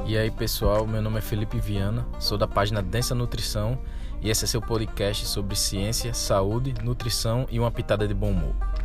E aí pessoal, meu nome é Felipe Viana, sou da página Densa Nutrição e esse é seu podcast sobre ciência, saúde, nutrição e uma pitada de bom humor.